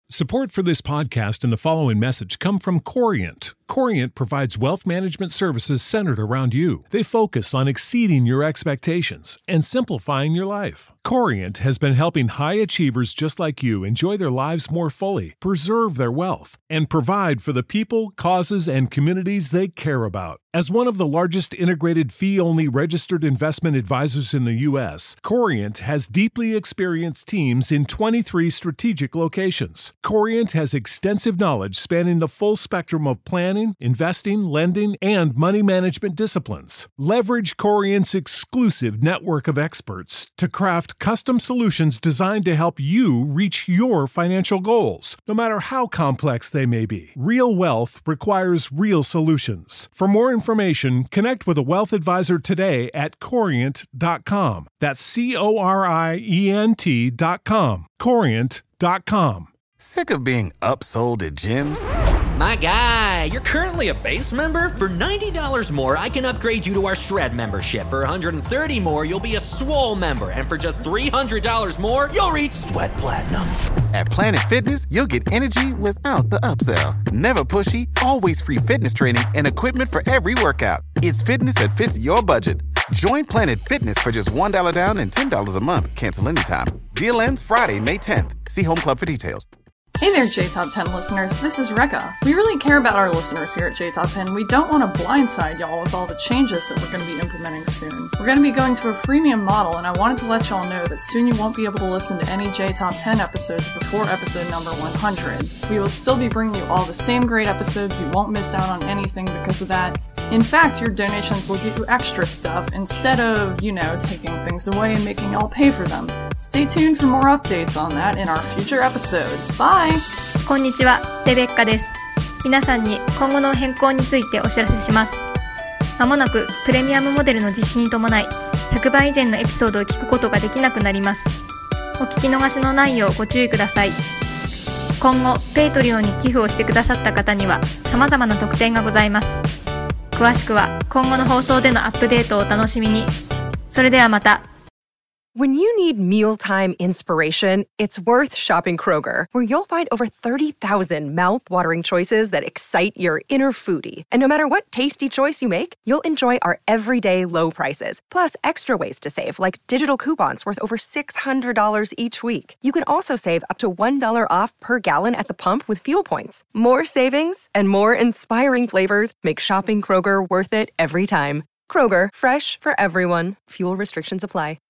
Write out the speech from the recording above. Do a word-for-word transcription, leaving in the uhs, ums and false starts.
Support for this podcast and the following message come from Corient. Corient provides wealth management services centered around you. They focus on exceeding your expectations and simplifying your life. Corient has been helping high achievers just like you enjoy their lives more fully, preserve their wealth, and provide for the people, causes, and communities they care about. As one of the largest integrated fee-only registered investment advisors in the U S, Corient has deeply experienced teams in twenty-three strategic locations. Corient has extensive knowledge spanning the full spectrum of planning, investing, lending, and money management disciplines. Leverage Corient's exclusive network of experts to craft custom solutions designed to help you reach your financial goals, no matter how complex they may be. Real wealth requires real solutions. For more information, connect with a wealth advisor today at corient dot com. That's C O R I E N T dot com. corient dot com. Sick of being upsold at gyms? My guy, you're currently a base member? For ninety dollars more, I can upgrade you to our Shred membership. For one hundred thirty dollars more, you'll be a Swole member. And for just three hundred dollars more, you'll reach Sweat Platinum. At Planet Fitness, you'll get energy without the upsell. Never pushy, always free fitness training and equipment for every workout. It's fitness that fits your budget. Join Planet Fitness for just one dollar down and ten dollars a month. Cancel anytime. Deal ends Friday, May tenth. See Home Club for details. Hey there, J Top ten listeners. This is Rekka. We really care about our listeners here at J Top ten. We don't want to blindside y'all with all the changes that we're going to be implementing soon. We're going to be going to a freemium model, and I wanted to let y'all know that soon you won't be able to listen to any J Top ten episodes before episode number one hundred. We will still be bringing you all the same great episodes. You won't miss out on anything because of that. In fact, your donations will get you extra stuff instead of, you know, taking things away and making y'all pay for them. Stay tuned for more updates on that in our future episodes. Bye! こんにちは、レベッカです。皆さんに今後の変更についてお知らせします。まもなくプレミアムモデルの実施に伴い、ひゃくばい以前のエピソードを聞くことができなくなります。お聞き逃しのないようご注意ください。今後、ペイトリオンに寄付をしてくださった方には様々な特典がございます。詳しくは今後の放送でのアップデートをお楽しみに。それではまた。 When you need mealtime inspiration, it's worth shopping Kroger, where you'll find over thirty thousand mouth-watering choices that excite your inner foodie. And no matter what tasty choice you make, you'll enjoy our everyday low prices, plus extra ways to save, like digital coupons worth over six hundred dollars each week. You can also save up to one dollar off per gallon at the pump with fuel points. More savings and more inspiring flavors make shopping Kroger worth it every time. Kroger, fresh for everyone. Fuel restrictions apply.